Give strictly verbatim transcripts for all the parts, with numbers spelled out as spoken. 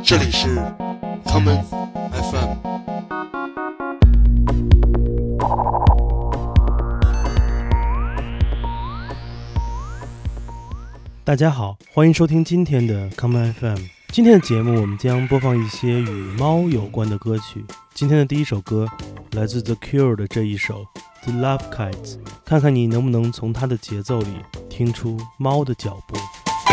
这里是 Common F M。 大家好，欢迎收听今天的 Common F M。 今天的节目我们将播放一些与猫有关的歌曲。今天的第一首歌来自 The Cure 的这一首 The Love Kites， 看看你能不能从它的节奏里听出猫的脚步。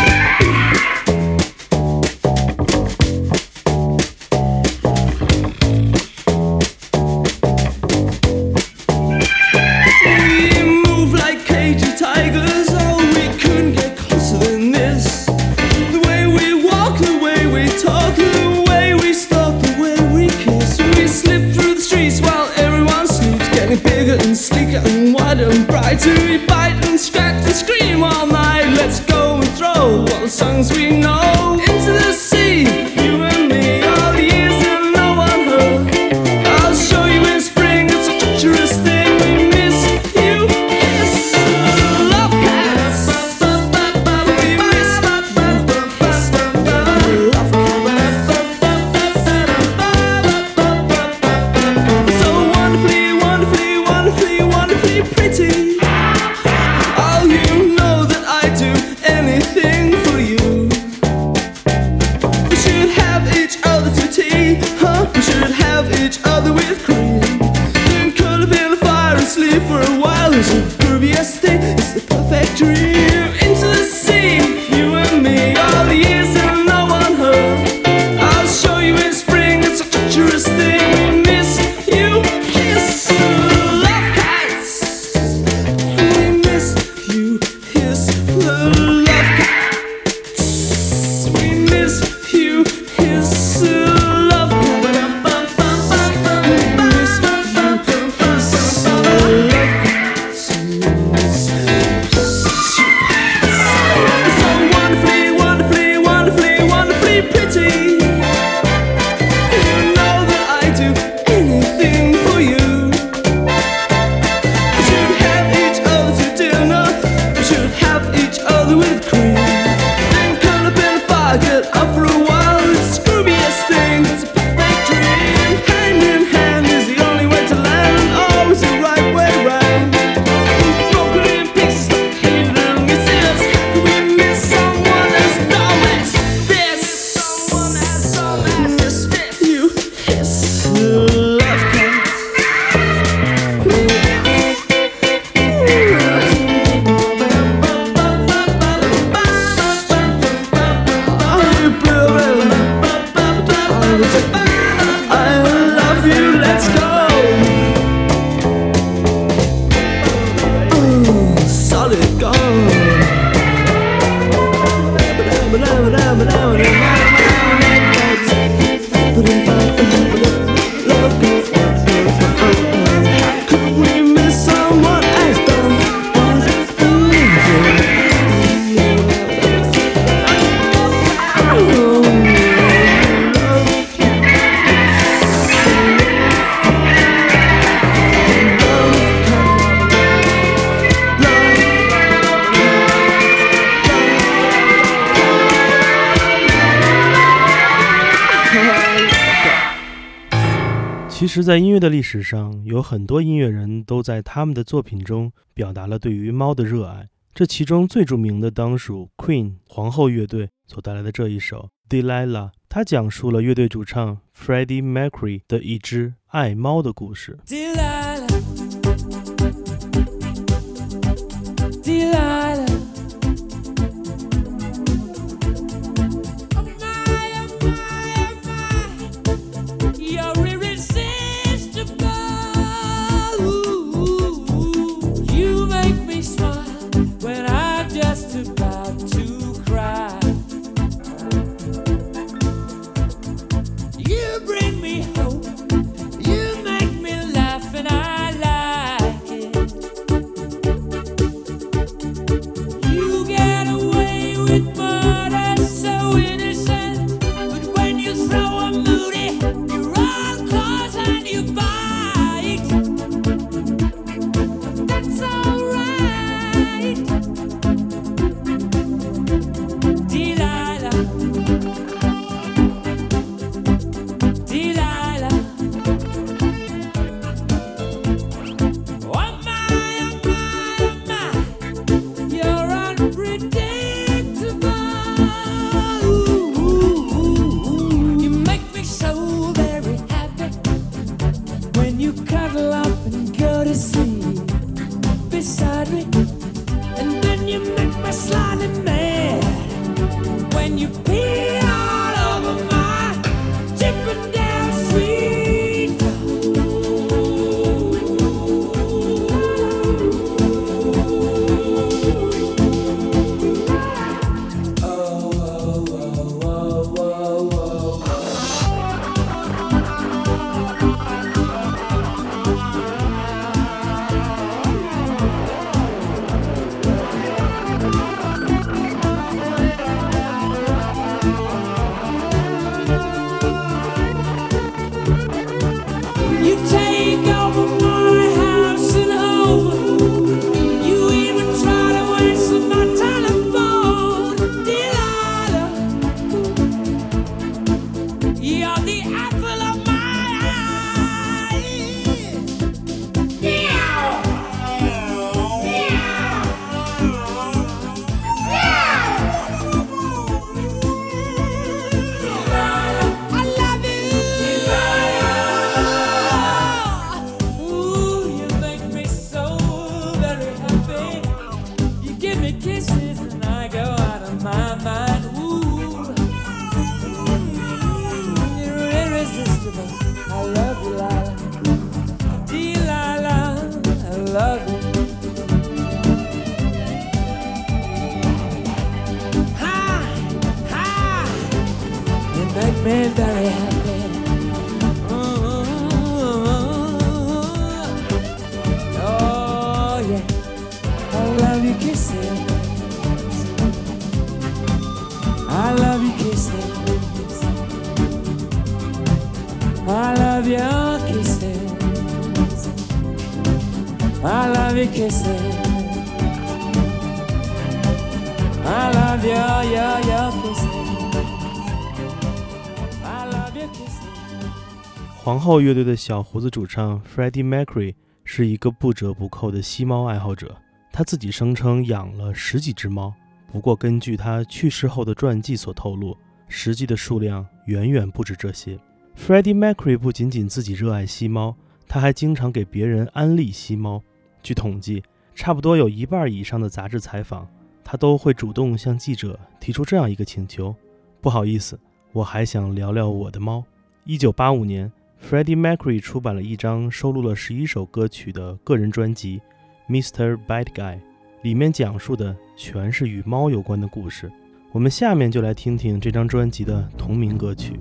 To we bite and scratch and scream all night. Let's go and throw all the songs we know into the sea. You and me, all the years and no one heard. I'll show you in spring, it's a treacherous thing. We miss you, kiss love cats. We miss love cats. So wonderfully, wonderfully, wonderfully, wonderfully pretty. For a while, it's a groovy thing. It's the perfect dream. Into the sea, you and me, all the years and no one heard. I'll show you in spring, it's a treacherous thing. We miss you, kiss love cats. We miss you, kiss the love cats. We miss you, kiss love cats. We miss you, kiss love cats. So wonderfully, wonderfully, wonderfully, wonderfully pretty. You know that I do anything for you. We should have each other to dinner. We should have each other with cream. Then curl up in a fire, get up for a while. It's the grooviest thing, it's a perfect dream. Hand in hand is the only way to land, and always the right way round. Broken in pieces like hate and misses. How can we miss someone as dumb as this? Someone as dumb as this. You kiss love cats. I love you, let's go. Ooh, solid gold. Could we miss someone as dumb as this? 其实在音乐的历史上，有很多音乐人都在他们的作品中表达了对于猫的热爱。这其中最著名的当属 Queen 皇后乐队所带来的这一首 Delilah， 它讲述了乐队主唱 Freddie Mercury 的一只爱猫的故事。 Delilah, Delilah. me very happy. Oh yeah, I love your kisses. I love your kisses. I love your kisses. I love your kisses. I love your, your, your kisses. I love your kisses. 皇后乐队的小胡子主唱 Freddie Mercury 是一个不折不扣的吸猫爱好者，他自己声称养了十几只猫，不过根据他去世后的传记所透露，实际的数量远远不止这些。Freddie Mercury 不仅仅自己热爱吸猫，他还经常给别人安利吸猫。据统计，差不多有一半以上的杂志采访，他都会主动向记者提出这样一个请求：不好意思，我还想聊聊我的猫。一九八五年 Freddie Mercury 出版了一张收录了十一首歌曲的个人专辑 Mister Bad Guy， 里面讲述的全是与猫有关的故事。我们下面就来听听这张专辑的同名歌曲。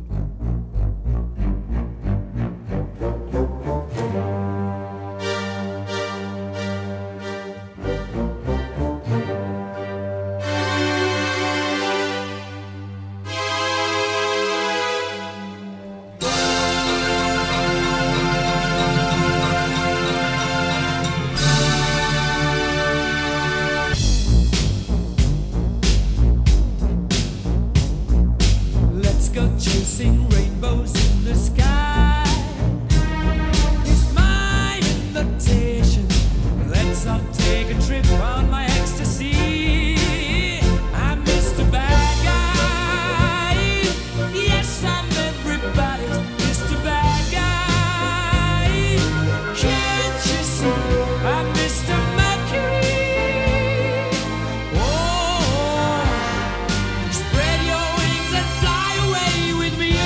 Chasing rainbows in the sky is my invitation. Let's all take a trip on my ecstasy. I'm Mister Bad Guy. Yes, I'm everybody's Mister Bad Guy. Can't you see I'm Mister Mercury? Oh, spread your wings and fly away with me.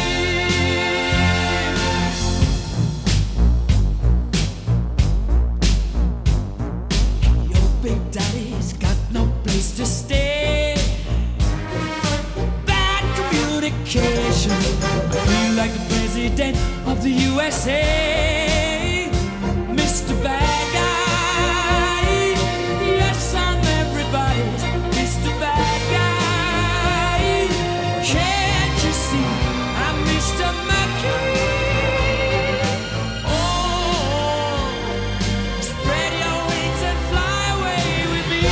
Your big daddy's got no place to stay. Bad communication. I feel like the president of the U S A. Mister Bad Guy. Yes, I'm everybody's Mister Bad Guy. Can't you see I'm Mister Mercury? Oh, spread your wings and fly away with me.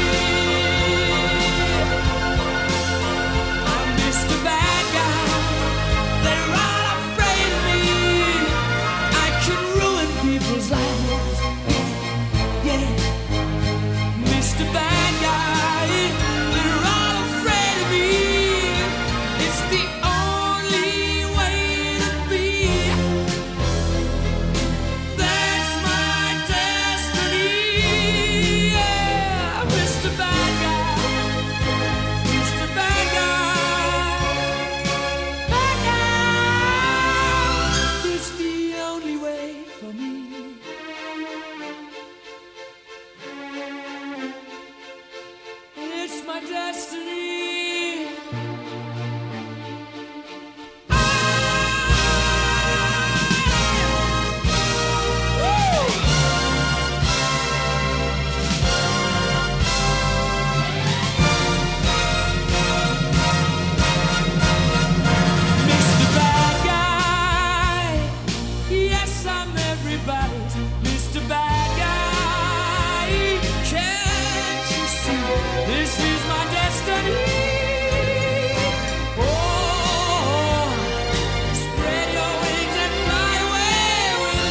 I'm Mister Bad Guy. They're all afraid of me. I can ruin people's lives. Yeah, Mister Bad Guy. They're all afraid of me. It's the only way to be. That's my destiny. Yeah, Mister Bad Guy. Mister Bad Guy. Bad Guy. It's the only way for me. It's my destiny. Mister Bad Guy. Yes, I'm everybody's Mister Bad Guy. Can't you see this is my destiny? Oh, spread your wings and fly away with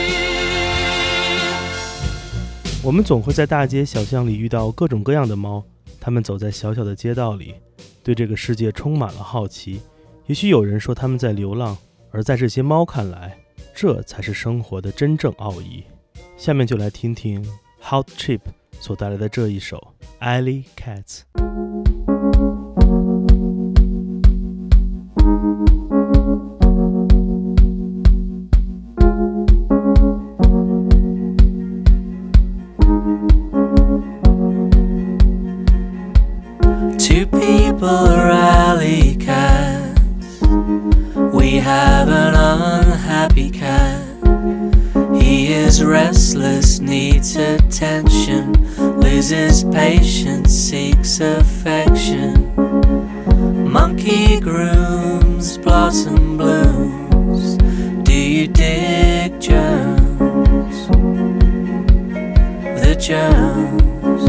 me. 我们总会在大街小巷里遇到各种各样的猫，它们走在小小的街道里，对这个世界充满了好奇。也许有人说它们在流浪，而在这些猫看来，这才是生活的真正奥义。下面就来听听 Hot Chip 所带来的这一首 Alley Cats。 Two people are alley cats. We have an unhappy cat. He is restless, needs attention, loses patience, seeks affection. Monkey grooms, blossom blooms. Do you dig germs? The germs.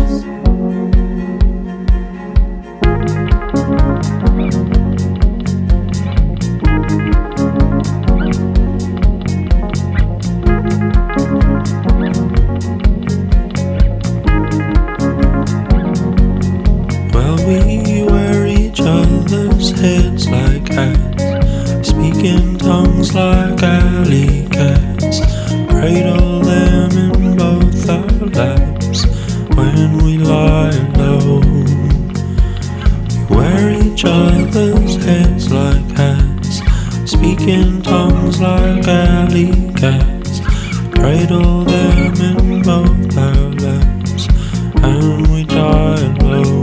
Heads like cats, speak in tongues like alley cats, cradle them in both our laps when we lie low. We wear each other's heads like cats, speak in tongues like alley cats, cradle them in both our laps and we die low.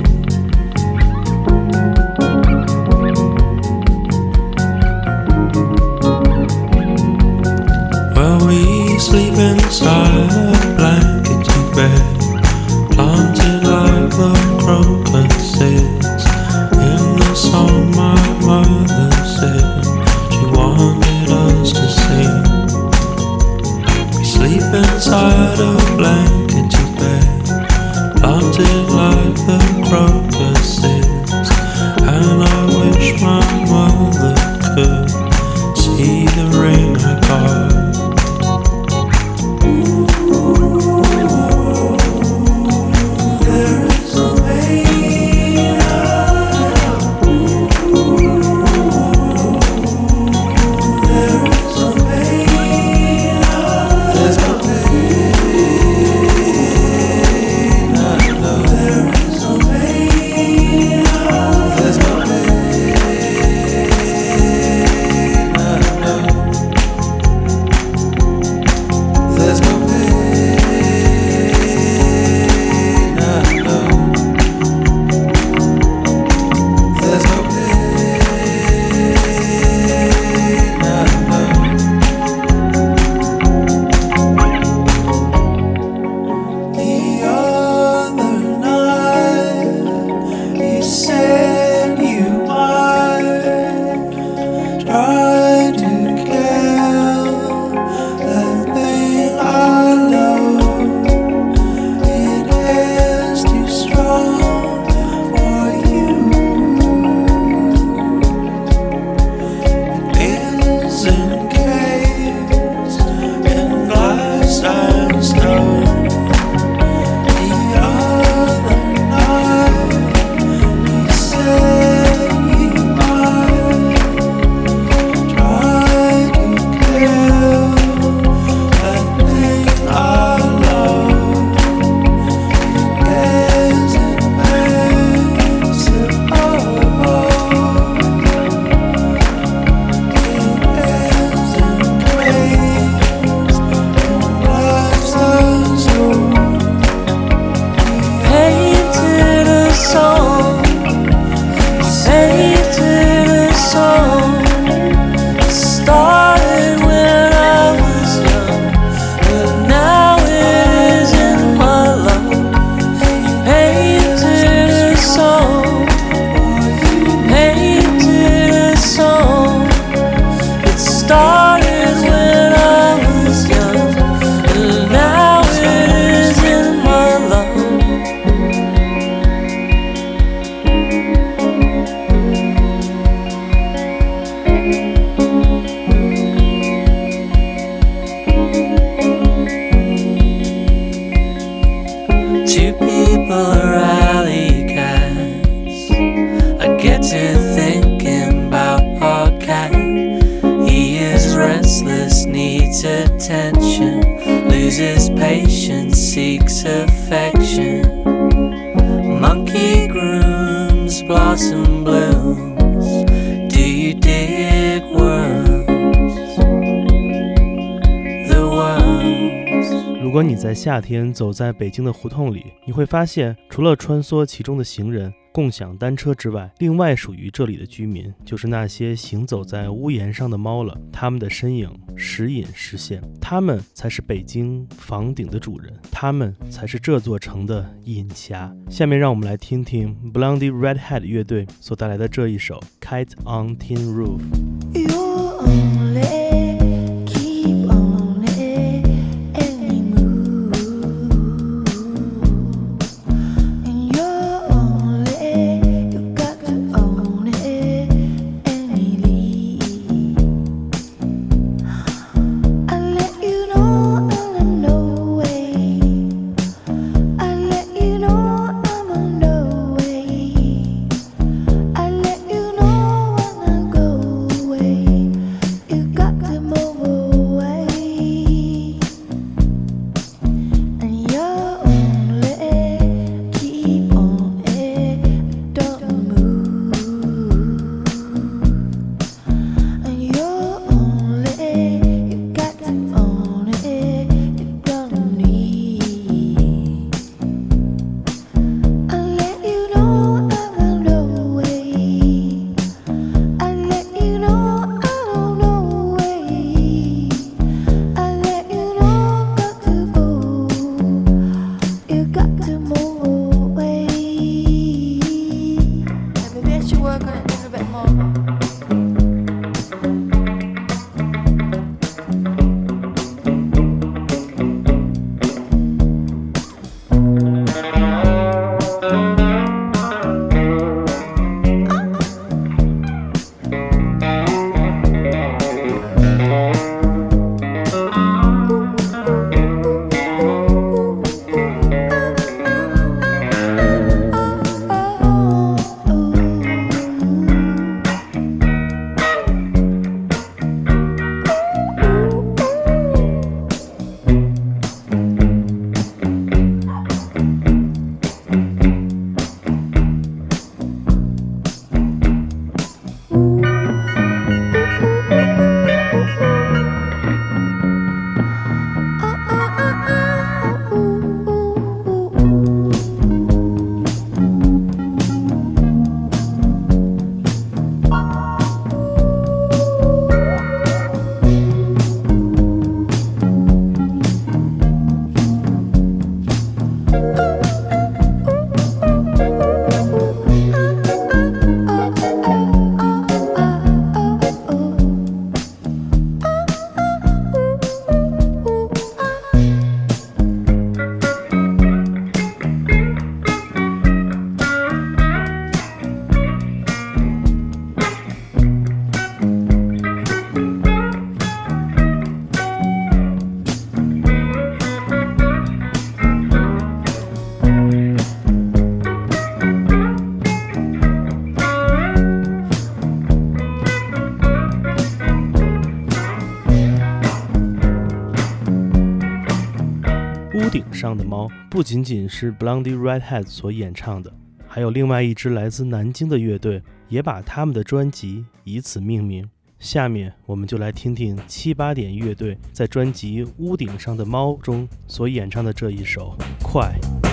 Sleep inside a blanket bed, planted like the crocuses. In the song my mother said she wanted us to sing. We sleep inside a blanket bed, planted like the crocuses. And I wish my mother could see the ring I got. Attention, loses patience, seeks affection. Monkey grooms, blossom blooms. Do you dig worms? The worms. 果你在夏天走在北京的胡同里，你会发现除了穿梭其中的行人、共享单车之外，另外属于这里的居民就是那些行走在屋檐上的猫了。它们的身影时隐时现，它们才是北京房顶的主人，它们才是这座城的隐侠。下面让我们来听听 Blondie Redhead 乐队所带来的这一首 Kite on Tin Roof。 屋顶上的猫不仅仅是 Blondie Redhead 所演唱的，还有另外一支来自南京的乐队也把他们的专辑以此命名。下面我们就来听听七八点乐队在专辑《屋顶上的猫》中所演唱的这一首《快》。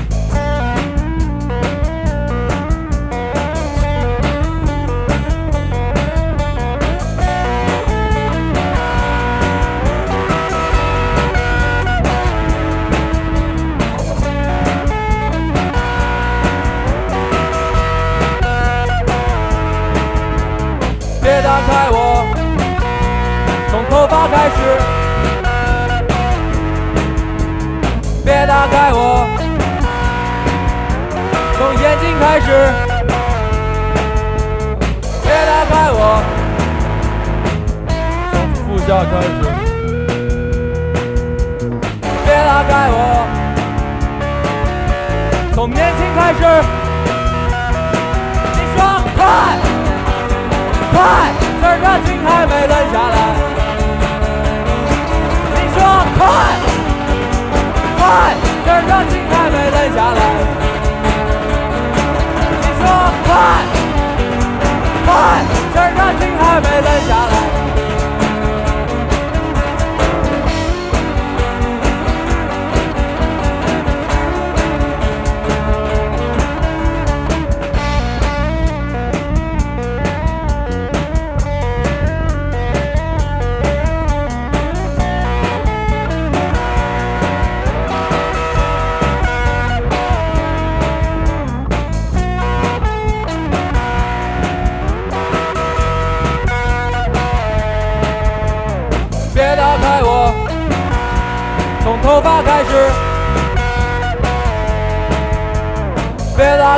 别打开我，从头发开始。别打开我，从眼睛开始。别打开我，从腹下开始。别打开我，从年轻开始。你说快！快，趁着情还没冷下来。你说快，快，趁着情还没冷下来。你说快，快，趁着情还没冷下来。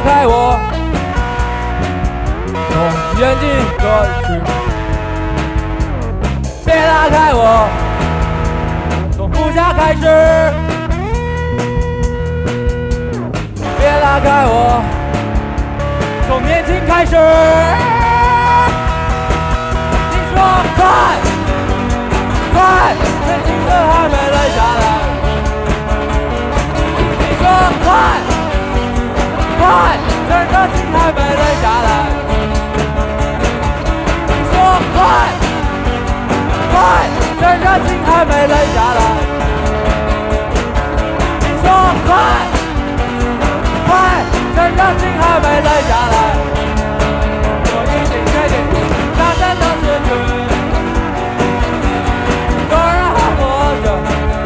开我，从眼睛过去，别拉开我，从腹下开始，别拉开我，从年轻开始。你说快快，趁青春还没冷下来。你说快快，趁热情还没冷下来。你说快快，趁热情还没冷下来。你说快快，趁热情还没冷下来。我已经决定大声的失去，有人还活着，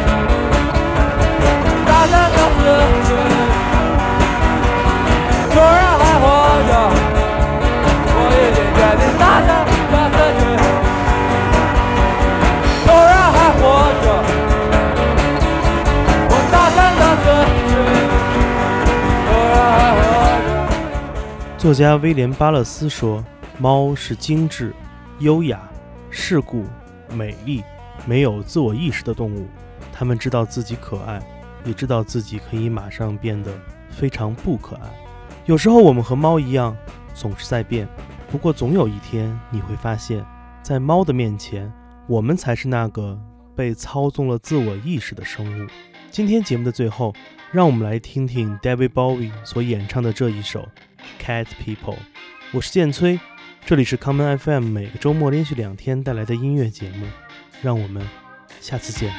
大声的失去，有人还活着，我已经决定大声的失去，有人还活着，我大声的失去，有人还活着。 作家威廉·巴勒斯说，猫是精致、优雅、世故、美丽、没有自我意识的动物。它们知道自己可爱，也知道自己可以马上变得非常不可爱。有时候我们和猫一样，总是在变。不过总有一天你会发现，在猫的面前，我们才是那个被操纵了自我意识的生物。今天节目的最后，让我们来听听 David Bowie 所演唱的这一首 Cat People。 我是建崔，这里是 Common F M 每个周末连续两天带来的音乐节目，让我们下次见。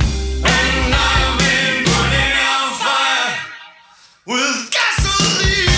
With gasoline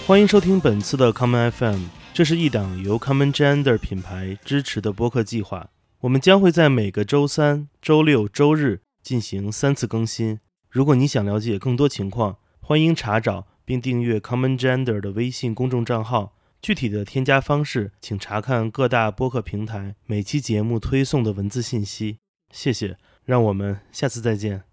欢迎收听本次的 Common F M， 这是一档由 Common Gender 品牌支持的播客计划。我们将会在每个周三、周六、周日进行三次更新。如果你想了解更多情况，欢迎查找并订阅 Common Gender 的微信公众账号。具体的添加方式，请查看各大播客平台每期节目推送的文字信息。谢谢，让我们下次再见。